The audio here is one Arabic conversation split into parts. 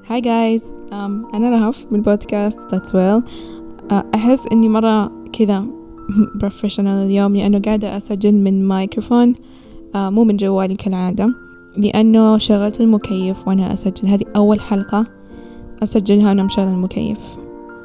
Hi guys. أنا رهف من بودكاست That's Well. أحس إني مرة كذا professional اليوم لأنه قاعدة أسجل من مايكروفون مو من جوالي كالعادة، لأنه شغلت المكيف وأنا أسجل. هذه أول حلقة أسجلها وأنا مشغلة المكيف.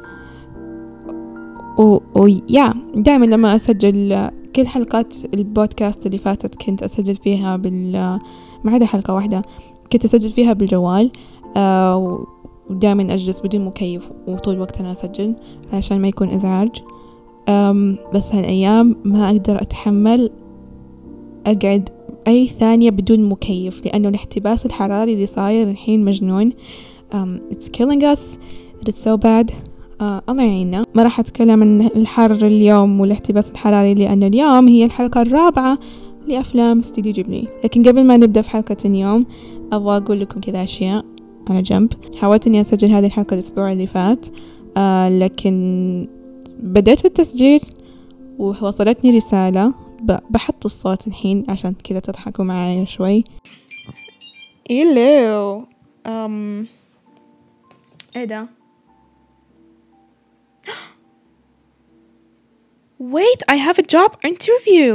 ويا دائما لما أسجل كل حلقات البودكاست اللي فاتت كنت أسجل فيها ما عدا حلقة واحدة كنت أسجل فيها بالجوال، ودائما أجلس بدون مكيف وطول الوقت أنا أسجل علشان ما يكون إزعاج. بس هالأيام ما أقدر أتحمل أقعد أي ثانية بدون مكيف، لأنه الاحتباس الحراري اللي صاير الحين مجنون. It's killing us. It is so bad. الله يعيننا. ما راح أتكلم عن الحر اليوم والاحتباس الحراري لأن اليوم هي الحلقة الرابعة لأفلام استديو جيبلي. لكن قبل ما نبدأ في حلقة اليوم أبغى أقول لكم كذا أشياء على جنب. حاولت أني أسجل هذه الحلقة الأسبوع اللي فات، لكن بدأت بالتسجيل ووصلتني رسالة. بحط الصوت الحين عشان كذا تضحكوا معايا شوي. إيلو إيه ده؟ Wait, I have a job interview.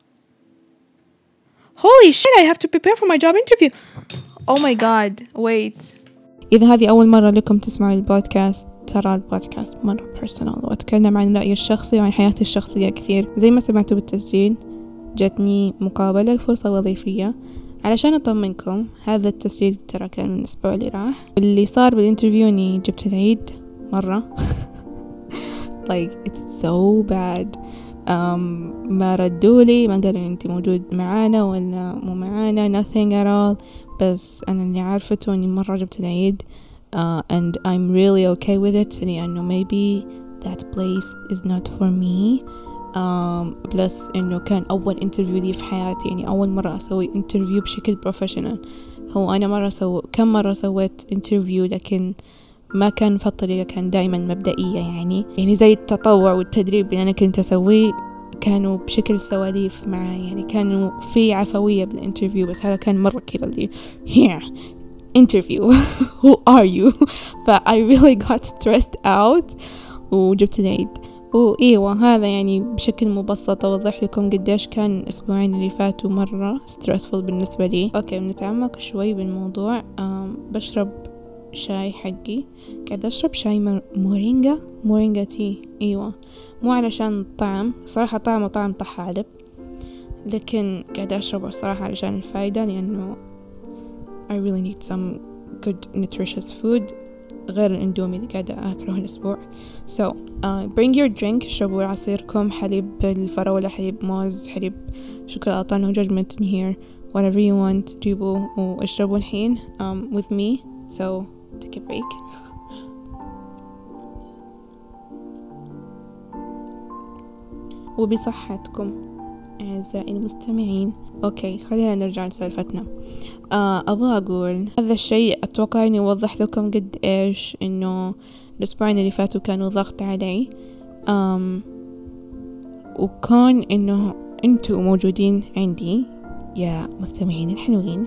Holy shit, I have to prepare for my job interview. Oh my god, wait. إذا هذه أول مرة لكم تسمعوا البودكاست، ترى البودكاست مرة personal وأتكلم عن رأيي الشخصي وعن حياتي الشخصية كثير. زي ما سمعتوا بالتسجيل جتني مقابلة لفرصة وظيفية. علشان أطمنكم، هذا التسجيل ترى كان من الأسبوع اللي راح. اللي صار بالانترفيو إني جبت العيد مرة. like it's so bad. ما ردولي، ما قالوا أنت موجود معانا ولا مو معانا، nothing at all. بس أنا اللي عارفته أني مرة جبت العيد and I'm really okay with it، لأنه maybe that place is not for me. بلس إنه كان أول انترفيو لي في حياتي، يعني أول مرة أسوي انترفيو بشكل بروفيشنال. هو أنا كم مرة سويت انترفيو، لكن ما كان في الطريقة، كان دائما مبدئية، يعني زي التطوع والتدريب اللي أنا كنت أسويه كانوا بشكل سواليف معي، يعني كانوا في عفوية بالانترفيو. بس هذا كان مرة كذا اللي here interview who are you. I really got stressed out وجبت العيد. وإيوه هذا يعني بشكل مبسط أوضح لكم قديش كان الأسبوعين اللي فاتوا مرة stressful بالنسبة لي. أوكي، بنتعمق شوي بالموضوع. بشرب شاي حقي، قاعدة أشرب شاي مورينجا تي. أيوة، مو علشان الطعم، صراحة طعمه طعم طحالب، لكن قاعدة أشربه الصراحة علشان الفايدة، لأنه I really need some good nutritious food غير الإندومي اللي قاعدة أكله الأسبوع. So bring your drink. اشربوا عصيركم، حليب الفراولة، حليب موز، حليب شوكولاتة، no judgment in here, whatever you want. جيبوا واشربوا الحين with me. So take a break. وبصحتكم أعزائي المستمعين. أوكي، خلينا نرجع لسالفتنا. أبغى أقول هذا الشيء أتوقع أني أوضح لكم قد إيش إنه الأسبوعين اللي فاتوا كانوا ضغط علي. وكون إنه أنتوا موجودين عندي يا مستمعين الحلوين،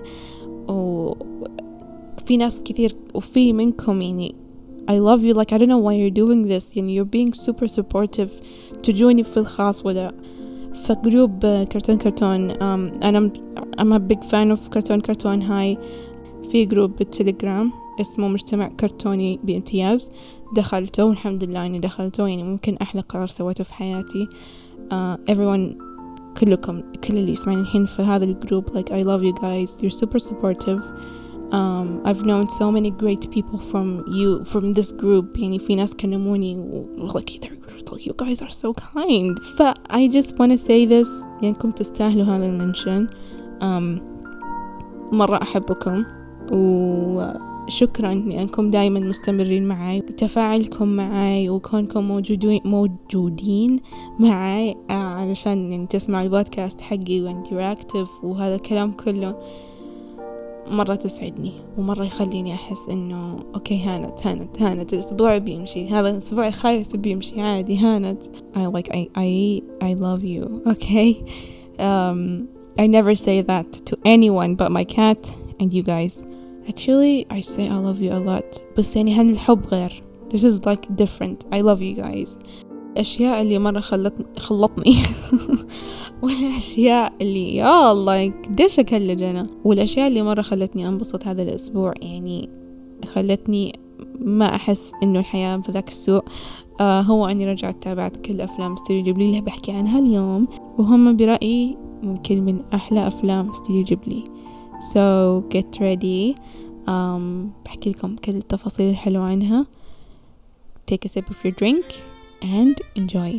وفي ناس كثير وفي منكم يعني I love you, like I don't know why you're doing this. يعني you're being super supportive. تجوني في الخاص ولا في جروب كرتون. I'm a big fan of كرتون هاي. في جروب بالتليجرام اسمه مجتمع كرتوني بامتياز، دخلته والحمد لله اني دخلته. يعني ممكن احلى قرار سويته في حياتي. everyone كلكم، كل اللي يسمعني الحين في هذا الجروب, like I love you guys, you're super supportive. I've known so many great people from this group. يعني في ناس كلموني like you guys are so kind. I just want to say this, لأنكم تستاهلوا هذا المنشن. مرة أحبكم وشكرا لأنكم دائما مستمرين معي، تفاعلكم معي وكونكم موجودين معي علشان يعني تسمعوا البودكاست حقي وانتراكتيف وهذا الكلام كله. مرة تسعدني ومرة يخليني أحس إنه أوكي هانت الأسبوع بيمشي، هذا الأسبوع الخايس بيمشي عادي. هانت I love you. Okay. I never say that to anyone but my cat and you guys. Actually I say I love you a lot, بس يعني الحب غير. This is like different. I love you guys. الأشياء اللي مرة خلطني والأشياء اللي يا الله قديش أكلج أنا، والأشياء اللي مرة خلتني أنبسط هذا الأسبوع، يعني خلتني ما أحس إنه الحياة بذاك السوء. هو أني رجعت تابعت كل أفلام استوديو جيبلي اللي بحكي عنها اليوم، وهم برأيي ممكن من أحلى أفلام استوديو جيبلي. So get ready. بحكي لكم كل التفاصيل الحلوة عنها. Take a sip of your drink and enjoy.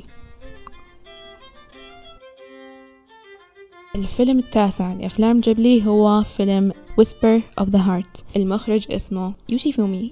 الفيلم التاسع لأفلام جيبلي هو فيلم Whisper of the Heart. المخرج اسمه يوشيفومي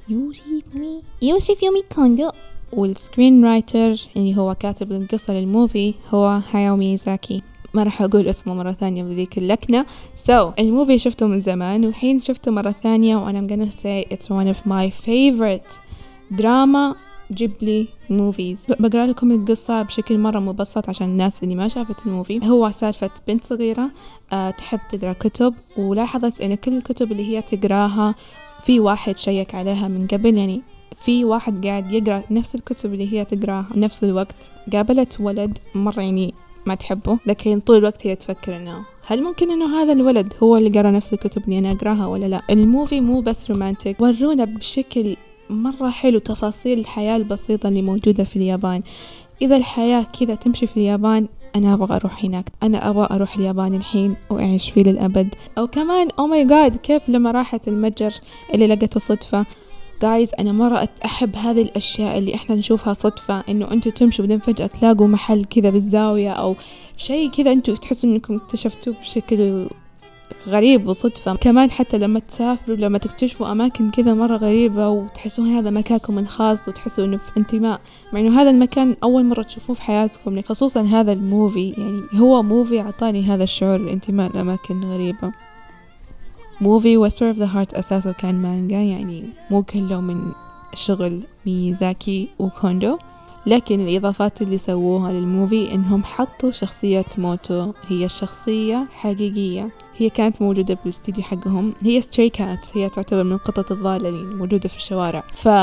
كوندو، والسكرين رايتر اللي هو كاتب القصة للموفي هو هاياو ميازاكي. ما راح أقول اسمه مرة ثانية بذيك اللكنة. الموفي شفته من زمان وحين شفته مرة ثانية and I'm gonna say it's one of my favorite drama جيبلي موفيز. بقرأ لكم القصة بشكل مرة مبسط عشان الناس اللي ما شافت الموفي. هو سالفة بنت صغيرة تحب تقرأ كتب، ولاحظت أن كل الكتب اللي هي تقراها في واحد شيك عليها من قبل، يعني في واحد قاعد يقرأ نفس الكتب اللي هي تقراها نفس الوقت. قابلت ولد مرة يعني ما تحبه، لكن طول الوقت هي تفكر انه هل ممكن انه هذا الولد هو اللي قرأ نفس الكتب اللي انا اقراها ولا لا. الموفي مو بس رومانتك، ورونا بشكل مرة حلو تفاصيل الحياة البسيطة اللي موجودة في اليابان. إذا الحياة كذا تمشي في اليابان أنا أبغى أروح هناك، أنا أبغى أروح اليابان الحين وأعيش فيه للأبد. أو كمان أو ماي جاد كيف لما راحت المتجر اللي لقته صدفة. جايز أنا مرة أحب هذه الأشياء اللي إحنا نشوفها صدفة، إنه أنتوا تمشوا بعدين فجأة تلاقوا محل كذا بالزاوية أو شيء كذا أنتوا تحسوا إنكم اكتشفتوه بشكل غريب وصدفة. كمان حتى لما تسافروا لما تكتشفوا أماكن كذا مرة غريبة وتحسون هذا مكانكم الخاص وتحسوا إنه في انتماء، مع إنه هذا المكان أول مرة تشوفوه في حياتكم. خصوصا هذا الموفي، يعني هو موفي عطاني هذا الشعور الانتماء لأماكن غريبة. موفي Whisper of the Heart أساسه كان مانجا، يعني مو كله من شغل ميازاكي وكوندو، لكن الإضافات اللي سووها للموفي إنهم حطوا شخصية موتو. هي الشخصية حقيقية، هي كانت موجودة في الاستديو حقهم. هي ستري كات، هي تعتبر من القطط الضالة اللي موجودة في الشوارع.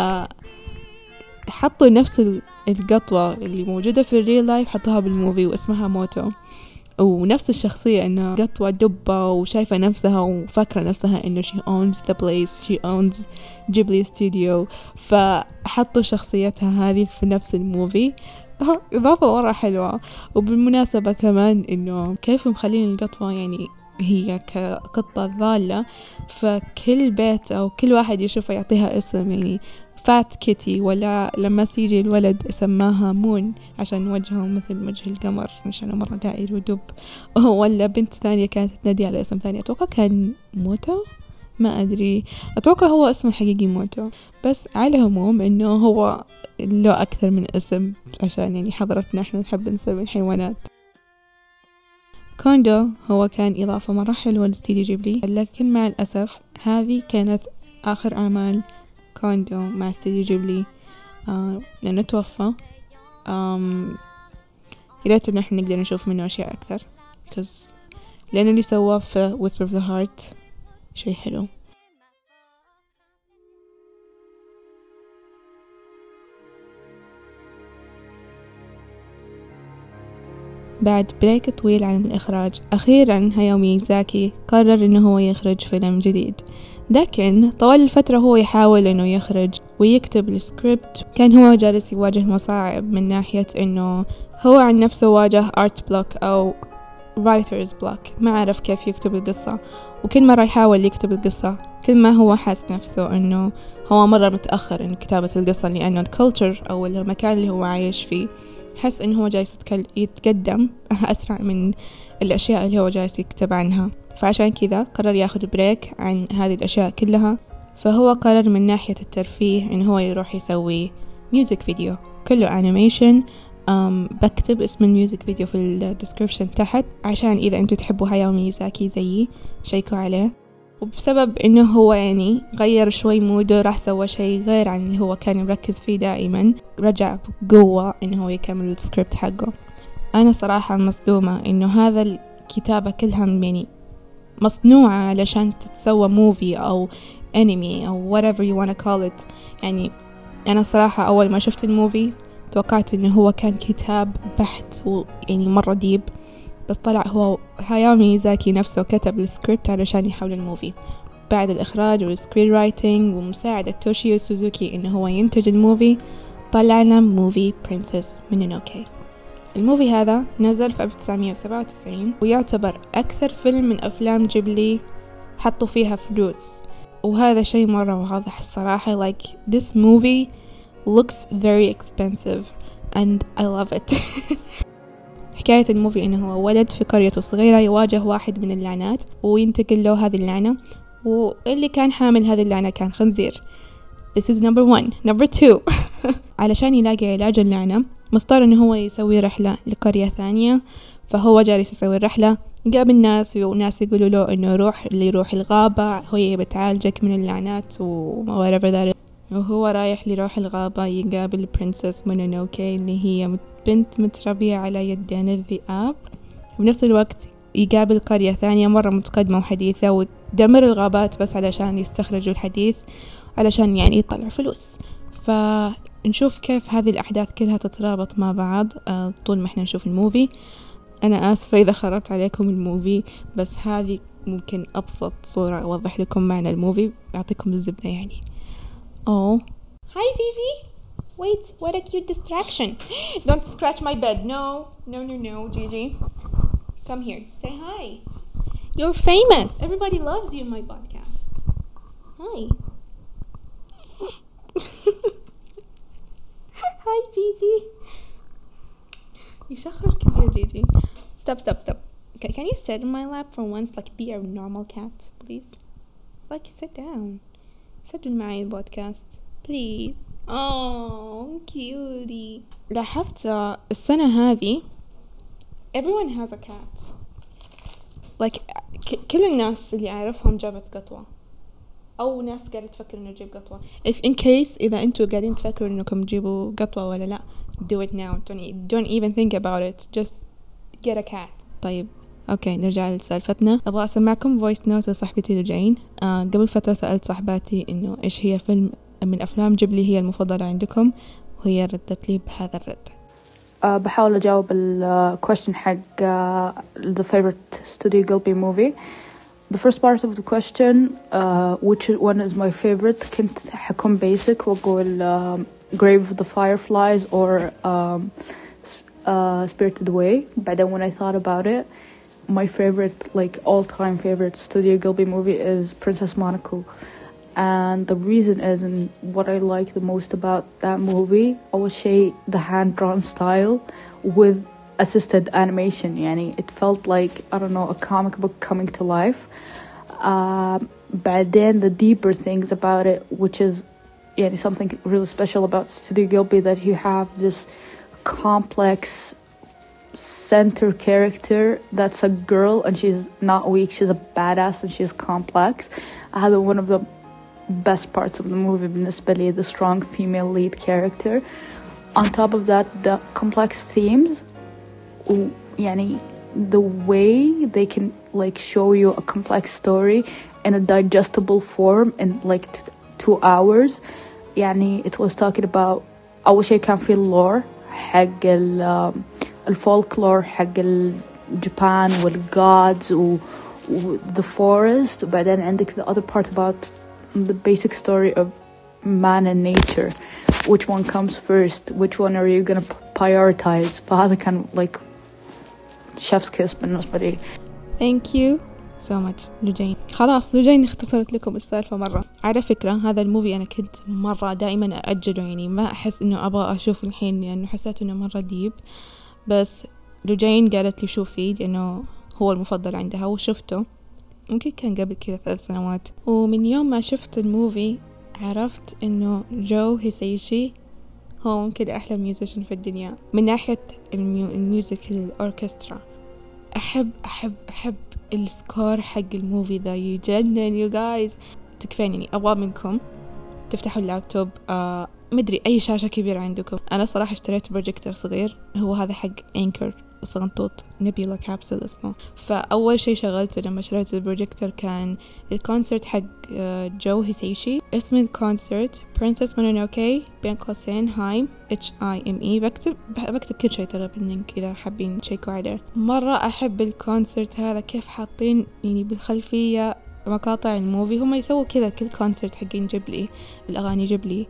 فحطوا نفس القطوة اللي موجودة في الريل لايف حطوها بالموفي واسمها موتو، ونفس الشخصية إنها قطوة دبة وشايفة نفسها وفاكرة نفسها إنه she owns the place, she owns Ghibli Studio. فحطوا شخصيتها هذه في نفس الموفي. إضافة مرة حلوة. وبالمناسبة كمان إنه كيف مخلين القطوة يعني هي كقطة ضالة، فكل بيت أو كل واحد يشوفها يعطيها اسم، يعني فات كيتي، ولا لما سيجي الولد سماها مون عشان وجهه مثل وجه القمر عشان مرة دائر ودب، ولا بنت ثانية كانت تنادي على اسم ثاني أتوقع كان موتو، ما أدري، أتوقع هو اسمه الحقيقي موتو. بس على العموم إنه هو له أكثر من اسم عشان يعني حضرتنا إحنا نحب نسمي الحيوانات. كوندو هو كان إضافة مرة حلوة لاستديو جيبلي، لكن مع الأسف هذه كانت آخر أعمال كوندو مع استديو جيبلي لأنه توفى. ياريت إنه إحنا نقدر نشوف منه أشياء أكثر لأنه اللي سواه في Whisper of the Heart شيء حلو. بعد بريك طويل عن الإخراج، أخيرا هاياو ميازاكي قرر إنه هو يخرج فيلم جديد. لكن طوال الفترة هو يحاول إنه يخرج ويكتب السكريبت. كان هو جالس يواجه مصاعب من ناحية إنه هو عن نفسه واجه art block أو writer's block، ما عرف كيف يكتب القصة. وكل مرة يحاول يكتب القصة كل ما هو حاس نفسه إنه هو مرة متأخر إنه كتابة القصة، لأنه الكولتشر أو المكان اللي هو عايش فيه حس إنه هو جالس يتقدم أسرع من الأشياء اللي هو جالس يكتب عنها. فعشان كذا قرر ياخد بريك عن هذه الأشياء كلها. فهو قرر من ناحية الترفيه إنه هو يروح يسوي ميوزك فيديو كله أنيميشن. بكتب اسم الميوزك فيديو في الديسكريبشن تحت عشان إذا أنتوا تحبوا هاياو ميازاكي زيي شيكوا عليه. وبسبب إنه هو يعني غير شوي موده، راح سوى شيء غير عن اللي هو كان مركز فيه دائما، رجع بقوة إنه هو يكمل السكريبت حقه. أنا صراحة مصدومة إنه هذا الكتابة كلها يعني مصنوعة علشان تتسوى موفي أو anime أو whatever you wanna call it. يعني أنا صراحة أول ما شفت الموفي توقعت إنه هو كان كتاب بحت ويعني مرة ديب، بس طلع هو هاياو ميازاكي نفسه كتب السكريبت علشان يحول الموفي بعد الإخراج والسكرين رايتنج ومساعدة توشيو سوزوكي إنه هو ينتج الموفي. طلعنا موفي برنسس مونونوكي. الموفي هذا نزل في 1997 ويعتبر أكثر فيلم من أفلام جيبلي حطوا فيها فلوس، وهذا شيء مرة واضح الصراحة. like this movie looks very expensive and I love it. حكاية الموفي إنه هو ولد في قريته صغيرة يواجه واحد من اللعنات وينتقل له هذه اللعنة، واللي كان حامل هذه اللعنة كان خنزير. This is number 1. number 2 علشان يلاقي علاج اللعنة مضطر إنه هو يسوي رحلة لقرية ثانية، فهو جالس يسوي الرحلة يقابل ناس وناس يقولوا له إنه يروح الغابة هي بتعالجك من اللعنات و whatever that is. وهو رايح لروح الغابة يقابل برنسس مونونوكي اللي هي بنت متربية على يدين الذئاب، وبنفس الوقت يقابل قرية ثانية مرة متقدمة وحديثة ودمر الغابات بس علشان يستخرجوا الحديث علشان يعني يطلع فلوس. فنشوف كيف هذه الأحداث كلها تترابط مع بعض طول ما احنا نشوف الموفي. أنا آسفة إذا خربت عليكم الموفي، بس هذه ممكن أبسط صورة أوضح لكم معنى الموفي أعطيكم الزبدة يعني. Oh, hi Gigi. Wait, what a cute distraction. Don't scratch my bed. No, Gigi. Come here. Say hi. You're famous. Everybody loves you in my podcast. Hi. Hi Gigi. يشخر كثير Gigi. Stop. Okay, can you sit in my lap for once? Like be a normal cat, please. Like sit down. سجل معي البودكاست please. oh cutie. لاحظت السنة هذه everyone has a cat. like كل الناس اللي أعرفهم جابت قطوة أو ناس قاعدة تفكر إنه تجيب قطوة. if in case إذا أنتوا قاعدين تفكروا إنكم تجيبوا قطوة ولا لا, do it now. don't even think about it. just get a cat. طيب اوكي نرجع لسالفتنا. ابغى اسمعكم فويس نوت لصاحبتي لجين. قبل فتره سالت صاحباتي انه ايش هي فيلم من افلام جيبلي هي المفضله عندكم, وهي ردت لي بهذا الرد. بحاول اجاوب question حق the favorite Studio Ghibli movie. The first part of the question which one is my favorite, كنت حكون basic واقول Grave of the Fireflies or Spirited Away. بعدين when I thought about it, my favorite, like all-time favorite Studio Ghibli movie is Princess Mononoke. And the reason is, and what I like the most about that movie, أول شيء the hand-drawn style with assisted animation. يعني it felt like, I don't know, a comic book coming to life. But then the deeper things about it, which is يعني something really special about Studio Ghibli, that you have this complex center character that's a girl and she's not weak, she's a badass and she's complex. I had one of the best parts of the movie بالنسبة لي, the strong female lead character. On top of that, the complex themes, يعني the way they can like show you a complex story in a digestible form in like 2 hours. يعني it was talking about أول شيء كان في lore حق الفولكلور حق الجابان والgods و the forest. وبعدين عندك the other part about the basic story of man and nature. Which one comes first? Which one are you gonna prioritize? فهذا كان like chef's kiss بالنسبة لي. Thank you so much لجين. خلاص لجين اختصرت لكم السالفة مرة. على فكرة هذا الموفي أنا كنت مرة دائما أأجله, يعني ما أحس إنه أبغى أشوف الحين لأنه حسيت إنه مرة ديب, بس لجين قالت لي شوفي لأنه هو المفضل عندها وشفته. ممكن كان قبل كذا 3 سنوات, ومن يوم ما شفت الموفي عرفت إنه جو هيسايشي هو ممكن أحلى ميوزيشن في الدنيا من ناحية الميوزك الأوركسترا. أحب السكور حق الموفي ذا يجنن يو جايز. تكفين يعني أبغى منكم تفتحوا اللابتوب مدري أي شاشة كبيرة عندكم. أنا صراحة اشتريت بروجيكتور صغير, هو هذا حق أنكر صغنطوط نبيلا كابسول اسمه. فأول شيء شغلته لما شريت البروجيكتور كان الكونسرت حق جو هيسيشي. اسم الكونسرت Princess Mononoke بين قوسين هايم HIME. بكتب كل شيء ترى باللينك إذا حابين تشيكوا عليه. مرة أحب الكونسرت هذا، كيف حاطين يعني بالخلفية مقاطع الموفي. هم يسووا كذا كل كونسرت حقين جيبلي، الأغاني جيبلي.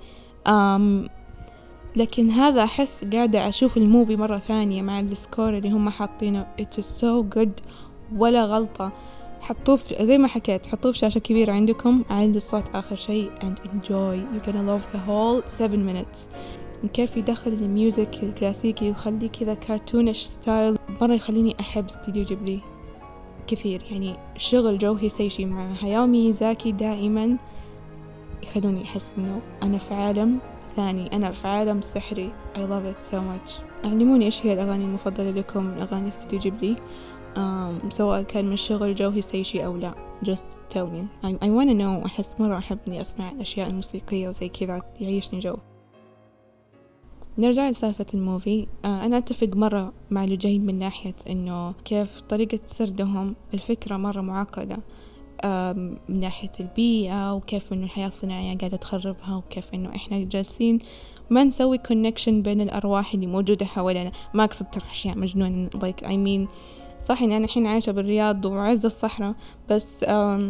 لكن هذا أحس قاعدة أشوف الموفي مرة ثانية مع السكور اللي هم حاطينه. It's so good، ولا غلطة. حطوه زي ما حكيت، حطوه في شاشة كبيرة عندكم، عالي الصوت آخر شيء and enjoy. You're gonna love the whole 7 minutes. كيف يدخل الميوزك الكلاسيكي ويخلي كذا كارتونيش ستايل، مرة يخليني أحب استوديو جيبلي كثير. يعني شغل جو هيسيشي مع هاياو ميازاكي دائما يخلوني أحس إنه أنا في عالم ثاني، أنا في عالم سحري. I love it so much. علموني إيش هي الأغاني المفضلة لكم من أغاني استوديو جيبلي، سواء كان من شغل جو هيسيشي أو لا. just tell me. I wanna know. أحس مرة أحب إني أسمع الأشياء الموسيقية وزي كذا، يعيشني جو. نرجع لسالفة الموفي. أنا أتفق مرة مع لجين من ناحية إنه كيف طريقة سردهم الفكرة مرة معقدة، من ناحية البيئة، وكيف إنه الحياة الصناعية قاعدة تخربها، وكيف إنه إحنا جالسين ما نسوي connection بين الأرواح اللي موجودة حوالينا. ما أقصد ترى أشياء مجنونة like I mean صح إني أنا الحين عايشة بالرياض وعز الصحراء، بس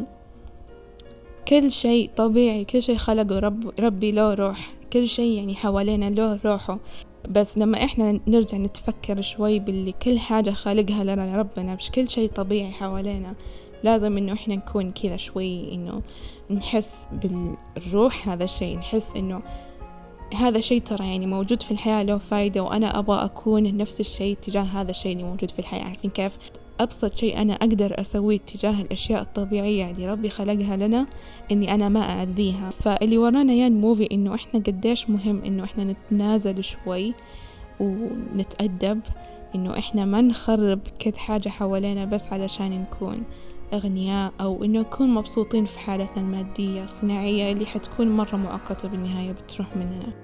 كل شيء طبيعي، كل شيء خلقه ربي له روح، كل شيء يعني حوالينا له روحه. بس لما إحنا نرجع نتفكر شوي باللي كل حاجة خالقها لنا ربنا، مش كل شيء طبيعي حوالينا. لازم إنه إحنا نكون كذا شوي، إنه نحس بالروح هذا الشيء، نحس إنه هذا الشيء ترى يعني موجود في الحياة له فايدة، وأنا أبغى أكون نفس الشيء تجاه هذا الشيء اللي موجود في الحياة. عارفين كيف؟ أبسط شيء أنا أقدر أسويه تجاه الأشياء الطبيعية اللي ربي خلقها لنا إني أنا ما أعذيها. فاللي ورانا يا الموفي إنه إحنا قديش مهم إنه إحنا نتنازل شوي ونتأدب، إنه إحنا ما نخرب كل حاجة حوالينا بس علشان نكون أغنياء، أو إنه نكون مبسوطين في حالتنا المادية الصناعية اللي حتكون مرة مؤقتة بالنهاية بتروح مننا.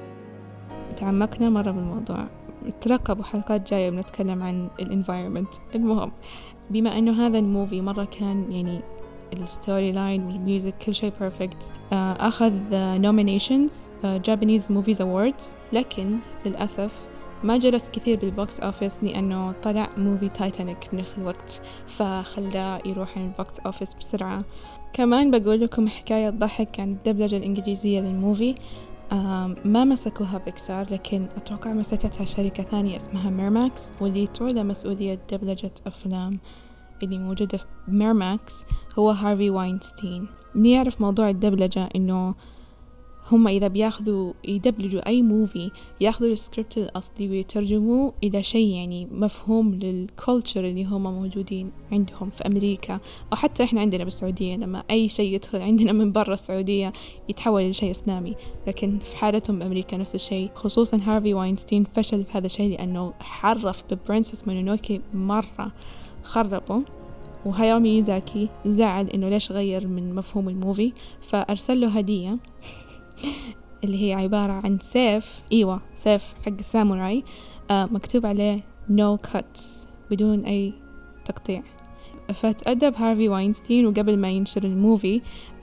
تعمقنا مرة بالموضوع، ترقبوا حلقات جاية بنتكلم عن الانفايرمنت. المهم، بما أنه هذا الموفي مرة كان يعني الستوري لاين والميوزك كل شيء بيرفكت، أخذ nominations Japanese Movies Awards، لكن للأسف ما جلس كثير بالبوكس أوفيس لأنه طلع موفي تايتانيك بنفس الوقت، فخلاه يروح عن البوكس أوفيس بسرعة. كمان بقول لكم حكاية ضحك عن الدبلجة الإنجليزية للموفي. ما مسكوها بيكسار، لكن أتوقع مسكتها شركة ثانية اسمها ميرماكس، واللي تعود مسؤولية دبلجة أفلام اللي موجودة في ميرماكس هو هارفي واينستين. نعرف موضوع الدبلجة إنه هم إذا يدبلجوا أي موفي ياخذوا السكريبت الأصلي ويترجموه إلى شيء يعني مفهوم للكولتشر اللي هم موجودين عندهم في أمريكا، أو حتى إحنا عندنا بالسعودية لما أي شيء يدخل عندنا من برا السعودية يتحول لشيء إسلامي. لكن في حالتهم بأمريكا نفس الشيء. خصوصا هارفي واينستين فشل في هذا الشيء لأنه حرف ببرنسس مونونوكي مرة، خربه. وهاياو ميازاكي زعل إنه ليش غير من مفهوم الموفي، فأرسل له هدية اللي هي عبارة عن سيف، سيف حق الساموراي، مكتوب عليه no cuts، بدون أي تقطيع. فتأدب هارفي واينستين، وقبل ما ينشر الموفي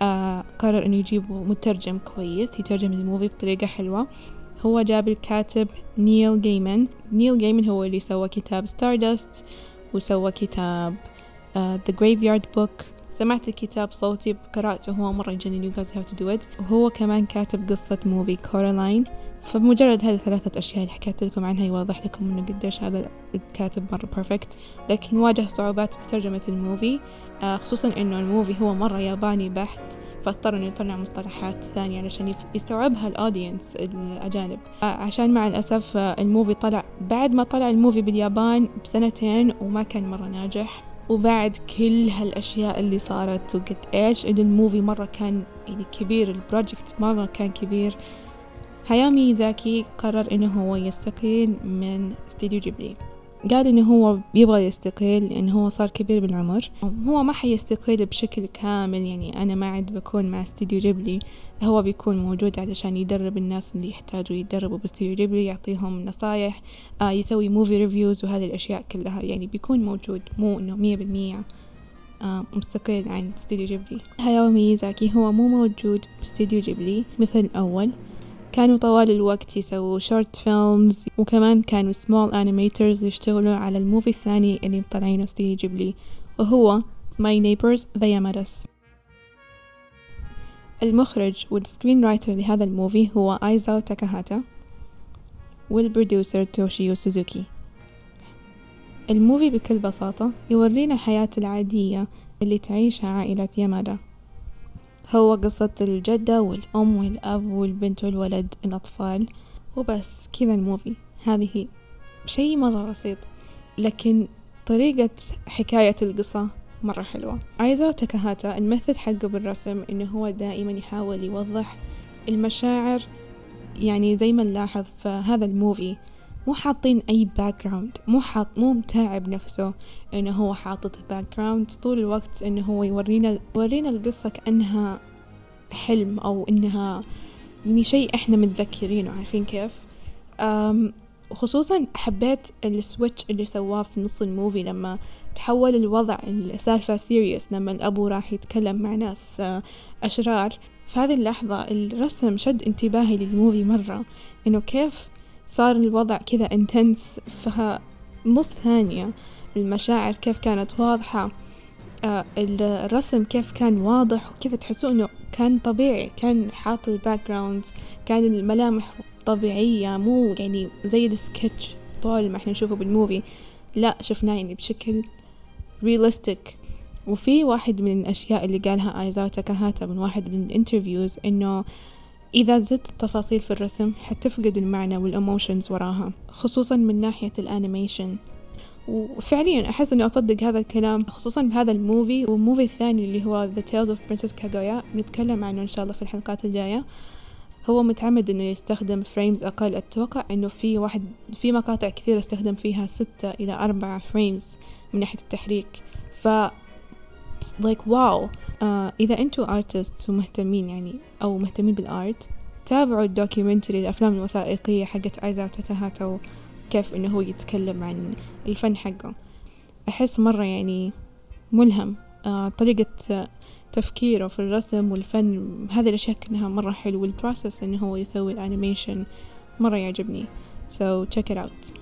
قرر أنه يجيب مترجم كويس يترجم الموفي بطريقة حلوة. هو جاب الكاتب نيل جيمن هو اللي سوى كتاب ستاردست، وسوى كتاب The Graveyard Book. سمعت الكتاب صوتي بقراءته، هو مرة يجنن. You guys have to do it. وهو كمان كاتب قصة موفي كورالاين. فبمجرد هذه 3 أشياء اللي حكيت لكم عنها يوضح لكم إنه قديش هذا الكاتب مرة بيرفكت. لكن واجه صعوبات بترجمة الموفي، خصوصا إنه الموفي هو مرة ياباني بحت، فاضطر إنه يطلع مصطلحات ثانية علشان يستوعبها الأودينس الأجانب. عشان مع الأسف الموفي طلع بعد ما طلع الموفي باليابان ب2 وما كان مرة ناجح. وبعد كل هالأشياء اللي صارت وقد إيش إن الموفي مرة كان يعني كبير، البروجكت مرة كان كبير، هاياو ميازاكي قرر إنه هو يستقيل من استوديو جيبلي. قال إنه هو يبغى يستقيل لأنه هو صار كبير بالعمر. هو ما حيستقيل بشكل كامل، يعني أنا ما عاد بكون مع استوديو جيبلي، هو بيكون موجود علشان يدرب الناس اللي يحتاجوا يدربوا باستوديو جيبلي، يعطيهم نصايح، يسوي موفي ريفيوز وهذه الأشياء كلها، يعني بيكون موجود، مو إنه 100% مستقل عن استوديو جيبلي. هاياو ميازاكي هو مو موجود باستوديو جيبلي مثل الأول، كانوا طوال الوقت يسووا شورت فيلمز، وكمان كانوا سمول انيميترز يشتغلوا على الموفي الثاني اللي مطلعينه استوديو جيبلي، وهو My Neighbors the Yamadas. المخرج والسكرين رايتر لهذا الموفي هو آيزاو تاكاهاتا، والبروديوسر توشيو سوزوكي. الموفي بكل بساطة يورينا الحياة العادية اللي تعيشها عائلة يامادا، هو قصة الجدة والأم والأب والبنت والولد الأطفال، وبس كذا الموفي. هذه شيء مرة بسيط، لكن طريقة حكاية القصة مرة حلوة. آيزاو تاكاهاتا الميثود حقه بالرسم إنه هو دائما يحاول يوضح المشاعر، يعني زي ما نلاحظ في هذا الموفي مو حاطين أي باك جراوند، مو متاعب نفسه إنه هو حاطط باك جراوند طول الوقت، إنه هو يورينا القصة كأنها حلم أو إنها يعني شيء إحنا متذكرينه، عارفين كيف. خصوصا حبيت السويتش اللي سواه في نص الموفي لما تحول الوضع السالفة سيريس، لما الأبو راح يتكلم مع ناس أشرار. في هذه اللحظة الرسم شد انتباهي للموفي مرة، إنه كيف صار الوضع كذا انتنس في نص ثانية، المشاعر كيف كانت واضحة، الرسم كيف كان واضح وكذا، تحسوا إنه كان طبيعي، كان حاط الباك جراوندز، كان الملامح طبيعية، مو يعني زي السكتش طول ما احنا نشوفه بالموفي، لا شفناه يعني بشكل رياليستيك. وفي واحد من الأشياء اللي قالها آيزاو تاكاهاتا من واحد من الانترفيوز إنه إذا زدت التفاصيل في الرسم حتفقد المعنى والإموشنز وراها، خصوصا من ناحية الأنيميشن. وفعليا أحس أني أصدق هذا الكلام، خصوصا بهذا الموفي والموفي الثاني اللي هو The Tales of Princess Kaguya، بنتكلم عنه إن شاء الله في الحلقات الجاية. هو متعمد أنه يستخدم فريمز أقل، أتوقع أنه في مقاطع كثيرة استخدم فيها 6 إلى 4 فريمز من ناحية التحريك. ف like واو. إذا أنتوا artists ومهتمين يعني أو مهتمين بالآرت، تابعوا الدوكيومنتري، الأفلام الوثائقية حقت آيزاو تاكاهاتا، كيف إنه هو يتكلم عن الفن حقه. أحس مرة يعني ملهم، طريقة تفكيره في الرسم والفن، هذه الأشياء كلها مرة حلو، والبروسس إنه هو يسوي الأنيميشن مرة يعجبني. so check it out.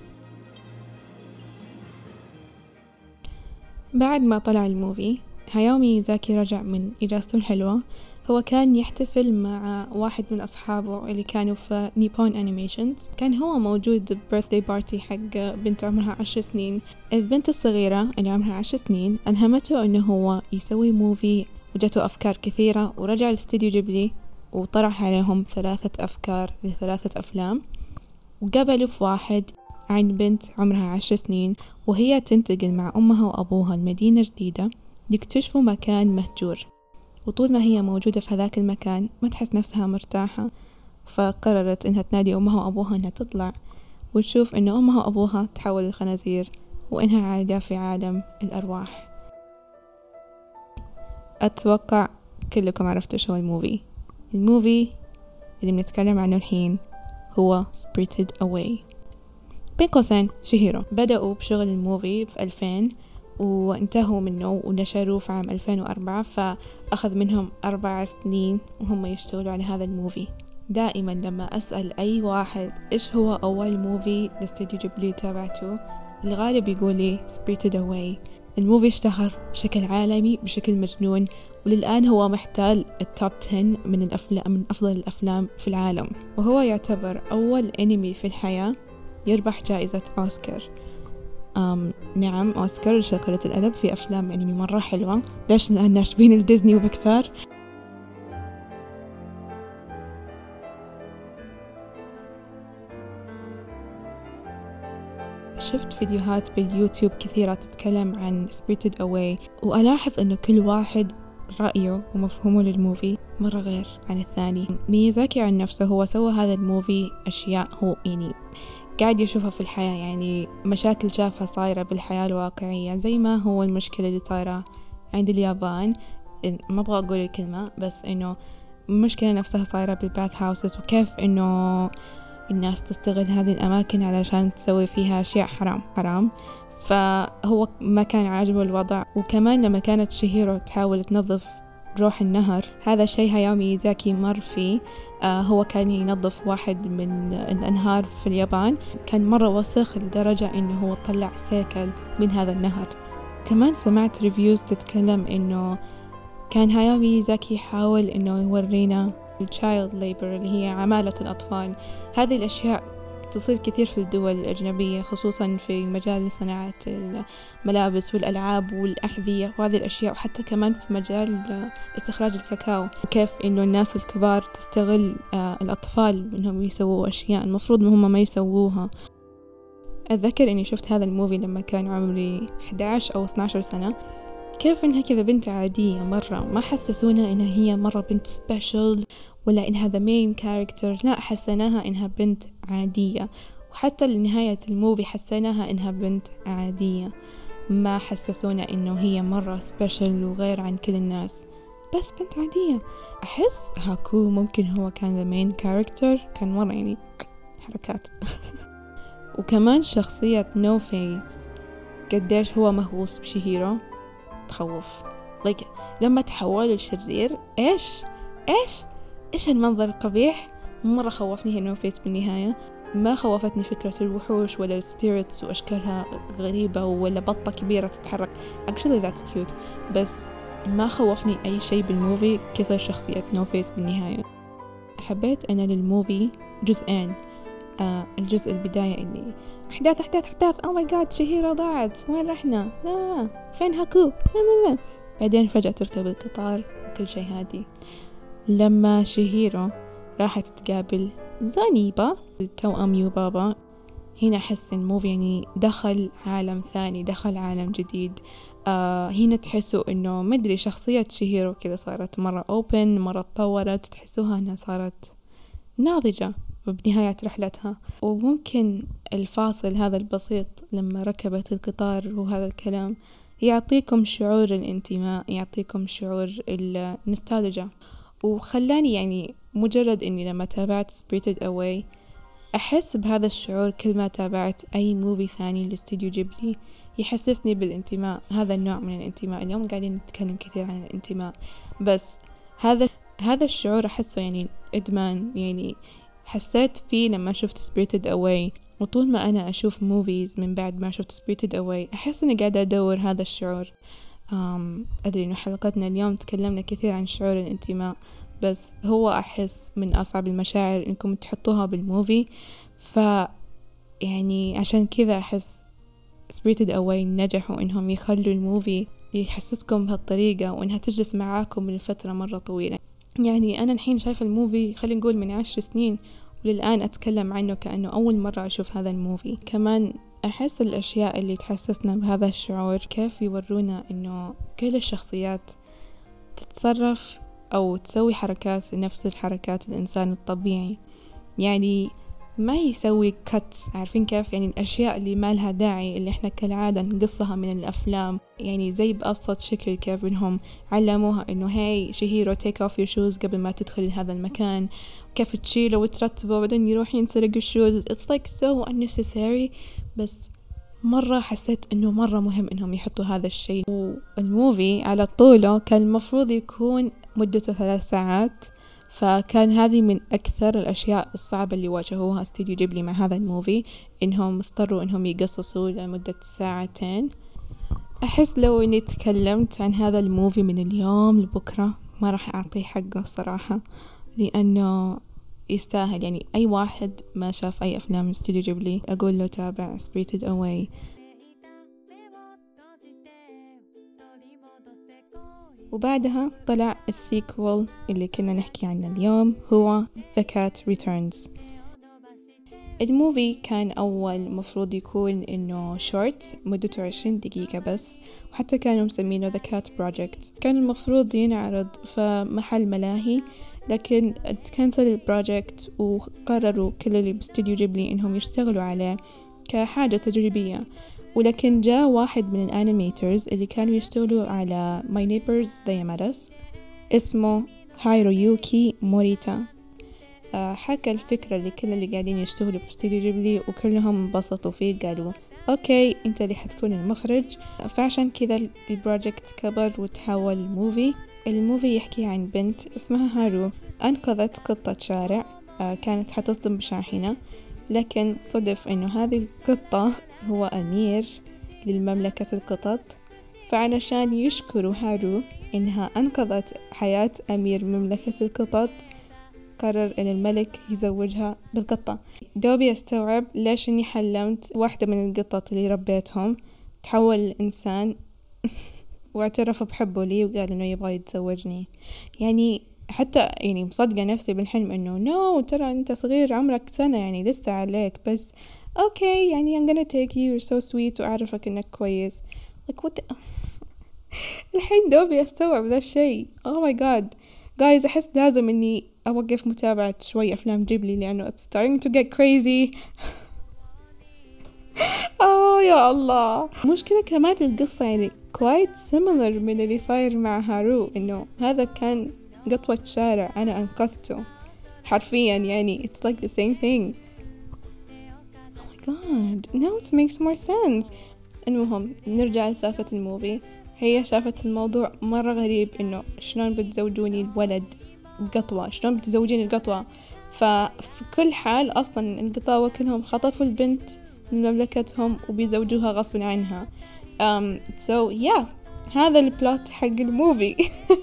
بعد ما طلع الموفي، هاياو ميازاكي رجع من إجازته الحلوة. هو كان يحتفل مع واحد من أصحابه اللي كانوا في نيبون أنيميشنز، كان هو موجود birthday party حق بنت عمرها 10 سنين. البنت الصغيرة اللي عمرها 10 سنين ألهمته أنه هو يسوي موفي، وجاته أفكار كثيرة، ورجع لاستوديو جيبلي وطرح عليهم 3 أفكار ل3 أفلام، وقبلوا في واحد عن بنت عمرها 10 سنين وهي تنتقل مع أمها وأبوها لمدينة جديدة، يكتشفوا مكان مهجور، وطول ما هي موجودة في هذاك المكان ما تحس نفسها مرتاحة، فقررت إنها تنادي أمها وأبوها إنها تطلع وتشوف إنه أمها وأبوها تحول الخنازير، وإنها عايدة في عالم الأرواح. أتوقع كلكم عرفتوا شو الموفي اللي بنتكلم عنه الحين هو Spirited Away. بين قوسين شهيرو. بدأوا بشغل الموفي في 2000 وانتهوا منه ونشروه في عام 2004، فأخذ منهم 4 سنين وهم يشتغلوا على هذا الموفي. دائما لما أسأل أي واحد إيش هو أول موفي لاستوديو جيبلي تابعته، الغالب يقول لي Spirited Away. الموفي اشتهر بشكل عالمي بشكل مجنون، وللآن هو محتل التوب 10 من أفضل الأفلام في العالم، وهو يعتبر أول أنمي في الحياة يربح جائزة أوسكار. نعم، أوسكار شكلة الأدب في أفلام أنمي مرة حلوة. ليش؟ لأن ناشبين الديزني وبكسار. شفت فيديوهات باليوتيوب كثيرة تتكلم عن Spirited Away، وألاحظ أنه كل واحد رأيه ومفهومه للموفي مرة غير عن الثاني. ميازاكي عن نفسه هو سوى هذا الموفي أشياء، هو يعني قاعد يشوفها في الحياة، يعني مشاكل شافها صايرة بالحياة الواقعية زي ما هو المشكلة اللي صايرة عند اليابان. ما أبغى أقول الكلمة، بس إنه المشكلة نفسها صايرة بالباث هاوسز، وكيف إنه الناس تستغل هذه الأماكن علشان تسوي فيها أشياء حرام. فهو ما كان عاجبه الوضع. وكمان لما كانت شيهيرو تحاول تنظف روح النهر، هذا الشيء هاياو ميازاكي مر فيه. هو كان ينظف واحد من الأنهار في اليابان، كان مرة وسخ لدرجة إنه هو طلع سيكل من هذا النهر. كمان سمعت ريفيوز تتكلم إنه كان هاياو ميازاكي يحاول إنه يورينا الchild labor اللي هي عمالة الأطفال. هذه الأشياء تصير كثير في الدول الأجنبية، خصوصا في مجال صناعة الملابس والألعاب والأحذية وهذه الأشياء، وحتى كمان في مجال استخراج الكاكاو، وكيف إنه الناس الكبار تستغل الأطفال إنهم يسووا أشياء المفروض إنهم ما يسووها. أتذكر إني شفت هذا الموفي لما كان عمري 11 أو 12 سنة، كيف إنها كذا بنت عادية مرة، ما حسسونا إنها هي مرة بنت سبيشل ولا إنها the main character، لا، حسناها إنها بنت عادية. وحتى لنهاية الموفي حسناها إنها بنت عادية، ما حسسونا إنه هي مرة سبيشل وغير عن كل الناس، بس بنت عادية. أحس هاكو ممكن هو كان the main character، كان مرة يعني حركات. وكمان شخصية نو فيس قديش هو مهووس بشيهيرو، تخوف. لما تحول الشرير إيش المنظر القبيح، مرة خوفني هي نو فيس بالنهاية. ما خوفتني فكرة الوحوش ولا السبيريتس وأشكالها غريبة ولا بطة كبيرة تتحرك، actually that's cute، بس ما خوفني أي شيء بالموفي كثر شخصية نو فيس بالنهاية. حبيت أنا للموفي جزئين. الجزء البداية اللي أحداث oh my god شهيرة ضاعت، وين رحنا، لا فين هاكو، لا. بعدين فجأة تركب القطار وكل شيء هادي. لما شهيرو راحت تقابل زانيبا التوأم يوبابا، هنا أحس الموفي يعني دخل عالم ثاني، دخل عالم جديد. هنا تحسوا إنه مدري شخصية شهيرو كذا صارت مرة open، مرة تطورت، تحسوها أنها صارت ناضجة بنهاية رحلتها. وممكن الفاصل هذا البسيط لما ركبت القطار وهذا الكلام يعطيكم شعور الانتماء، يعطيكم شعور النوستالجيا، وخلاني يعني مجرد اني لما تابعت Spirited Away احس بهذا الشعور كل ما تابعت اي موفي ثاني لاستوديو جيبلي، يحسسني بالانتماء. هذا النوع من الانتماء، اليوم قاعدين نتكلم كثير عن الانتماء، بس هذا الشعور احسه يعني ادمان، يعني حسيت فيه لما شفت Spirited Away. وطول ما أنا أشوف موفيز من بعد ما شفت Spirited Away أحس أني قاعدة أدور هذا الشعور. أدري أنه حلقتنا اليوم تكلمنا كثير عن شعور الانتماء، بس هو أحس من أصعب المشاعر إنكم تحطوها بالموفي. يعني عشان كذا أحس Spirited Away نجحوا إنهم يخلوا الموفي يحسسكم بهالطريقة، وإنها تجلس معاكم لفترة مرة طويلة. يعني أنا الحين شايفة الموفي خلينا نقول من 10 سنين، وللآن أتكلم عنه كأنه أول مرة أشوف هذا الموفي. كمان أحس الأشياء اللي تحسسنا بهذا الشعور كيف يورونا إنه كل الشخصيات تتصرف أو تسوي حركات نفس الحركات الإنسان الطبيعي، يعني ما يسوي كاتس، عارفين كيف؟ يعني الأشياء اللي ما لها داعي اللي إحنا كالعادة نقصها من الأفلام، يعني زي بأبسط شكل كيف إنهم علموها إنه هاي شهيرو take off your shoes قبل ما تدخل هذا المكان، كيف تشيله وترتبه وبعدين يروح ينسرق الشوز. it's like so unnecessary، بس مرة حسيت إنه مرة مهم إنهم يحطوا هذا الشيء. والموفي على طوله كان المفروض يكون مدته 3 ساعات، فكان هذه من أكثر الأشياء الصعبة اللي واجهوها استوديو جيبلي مع هذا الموفي، إنهم اضطروا إنهم يقصصوا لمدة 2 ساعات. أحس لو إني تكلمت عن هذا الموفي من اليوم لبكرة ما راح أعطيه حقه صراحة، لأنه يستاهل. يعني أي واحد ما شاف أي أفلام من استوديو جيبلي أقول له تابع Spirited Away. وبعدها طلع السيكوال اللي كنا نحكي عنه اليوم، هو The Cat Returns. الموفي كان أول مفروض يكون إنه شورت مدته 20 دقيقة بس، وحتى كانوا مسمينه The Cat Project. كان المفروض ينعرض في محل ملاهي لكن تكنسل البروجكت وقرروا كل اللي باستوديو جيبلي إنهم يشتغلوا عليه كحاجة تجريبية. ولكن جاء واحد من الانيميترز اللي كانوا يشتغلوا على My Neighbors They Met Us اسمه هايرويوكي موريتا. حكى الفكرة لكل اللي قاعدين يشتغلوا في استوديو جيبلي وكلهم انبسطوا فيه، قالوا اوكي انت اللي حتكون المخرج. فعشان كذا البروجكت كبر وتحول موفي. الموفي يحكي عن بنت اسمها هارو انقذت قطة شارع كانت حتصدم بشاحنة، لكن صدف انه هذه القطة هو امير للمملكة القطط. فعلشان يشكروا هارو انها انقذت حياة امير مملكة القطط قرر ان الملك يزوجها بالقطة. دوبي استوعب ليش اني حلمت واحدة من القطط اللي ربيتهم تحول لإنسان واعترف بحبه لي وقال انه يبغى يتزوجني. يعني حتى يعني مصدقة نفسي بالحلم انه نو ترى انت صغير عمرك سنة يعني لسه عليك، بس اوكي يعني I'm gonna take you, you're so sweet واعرفك انك كويس. like what the... الحين دوبي استوعب ذا الشيء. oh my god guys احس لازم اني اوقف متابعة شوي افلام جيبلي لانه it's starting to get crazy. يا الله. مشكلة كمان القصة يعني quite similar من اللي صاير مع هارو، انه هذا كان قطوة شارع انا انقذته حرفيا، يعني it's like the same thing. oh my god now it makes more sense. المهم نرجع لسالفة الموفي. هي شافت الموضوع مرة غريب انه شلون بتزوجوني الولد بقطوة، شلون بتزوجين القطوة. ففي كل حال اصلا القطاوة كلهم خطفوا البنت من مملكتهم وبيزوجوها غصب عنها. so yeah هذا البلوت حق الموفي.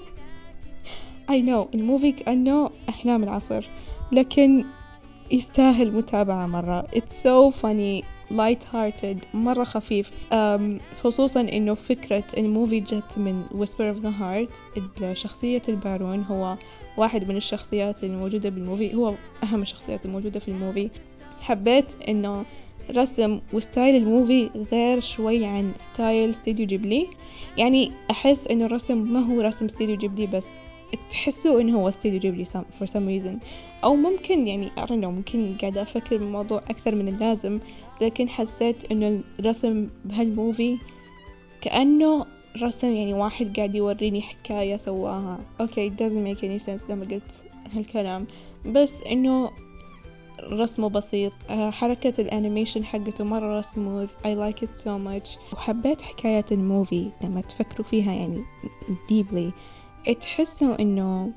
I know الموفي كأنه أحلام العصر لكن يستاهل متابعة مرة. it's so funny light hearted مرة خفيف. خصوصا إنه فكرة الموفي جت من Whisper of the Heart. شخصية البارون هو واحد من الشخصيات الموجودة بالموفي، هو أهم الشخصيات الموجودة في الموفي. حبيت إنه رسم وستايل الموفي غير شوي عن ستايل استوديو جيبلي. يعني أحس إنه الرسم ما هو رسم استوديو جيبلي بس تحسوا إنه هو استوديو جيبلي for some reason. أو ممكن يعني I don't know ممكن قاعدة أفكر بالموضوع أكثر من اللازم، لكن حسيت إنه الرسم بهالموفي كأنه رسم يعني واحد قاعد يوريني حكاية سواها. okay it doesn't make any sense لما قلت هالكلام، بس إنه رسمه بسيط. حركة الانيميشن حقته مرة سموث. I like it so much. وحبيت حكاية الموفي لما تفكروا فيها يعني deeply تحسوا انه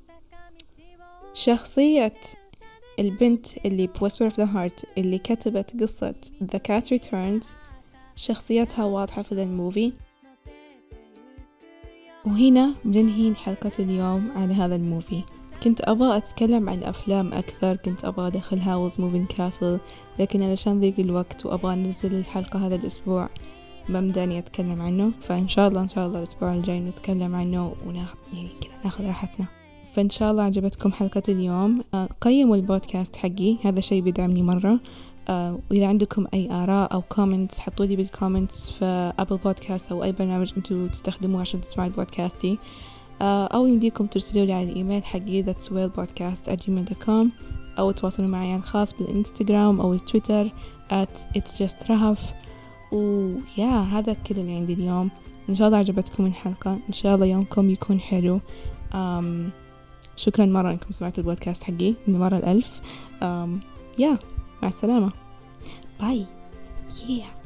شخصية البنت اللي Whisper of the Heart اللي كتبت قصة The Cat Returns شخصيتها واضحة في الموفي. وهنا بننهي حلقة اليوم على هذا الموفي. كنت أبغى أتكلم عن أفلام أكثر، كنت أبغى أدخل Howl's Moving Castle، لكن علشان ضيق الوقت وأبغى أنزل الحلقة هذا الأسبوع ما مداني أتكلم عنه. فإن شاء الله الأسبوع الجاي نتكلم عنه وناخذ يعني كذا ناخذ راحتنا. فإن شاء الله عجبتكم حلقة اليوم. قيموا البودكاست حقي، هذا شيء بيدعمني مرة. وإذا عندكم أي آراء أو كومنتس حطوا لي بالكومنتس في أبل بودكاست أو أي برنامج أنتوا تستخدموه عشان تسمعوا البودكاستي. أو يمديكم ترسلوا لي على الإيميل حقي thatswellpodcast@gmail.com أو تواصلوا معي على الخاص بالإنستغرام أو التويتر @itsjustrahaf. هذا كل اللي عندي اليوم. إن شاء الله عجبتكم الحلقة، إن شاء الله يومكم يكون حلو. شكرا مرة أنكم سمعتوا البودكاست حقي المرة 1000. مع السلامة. باي.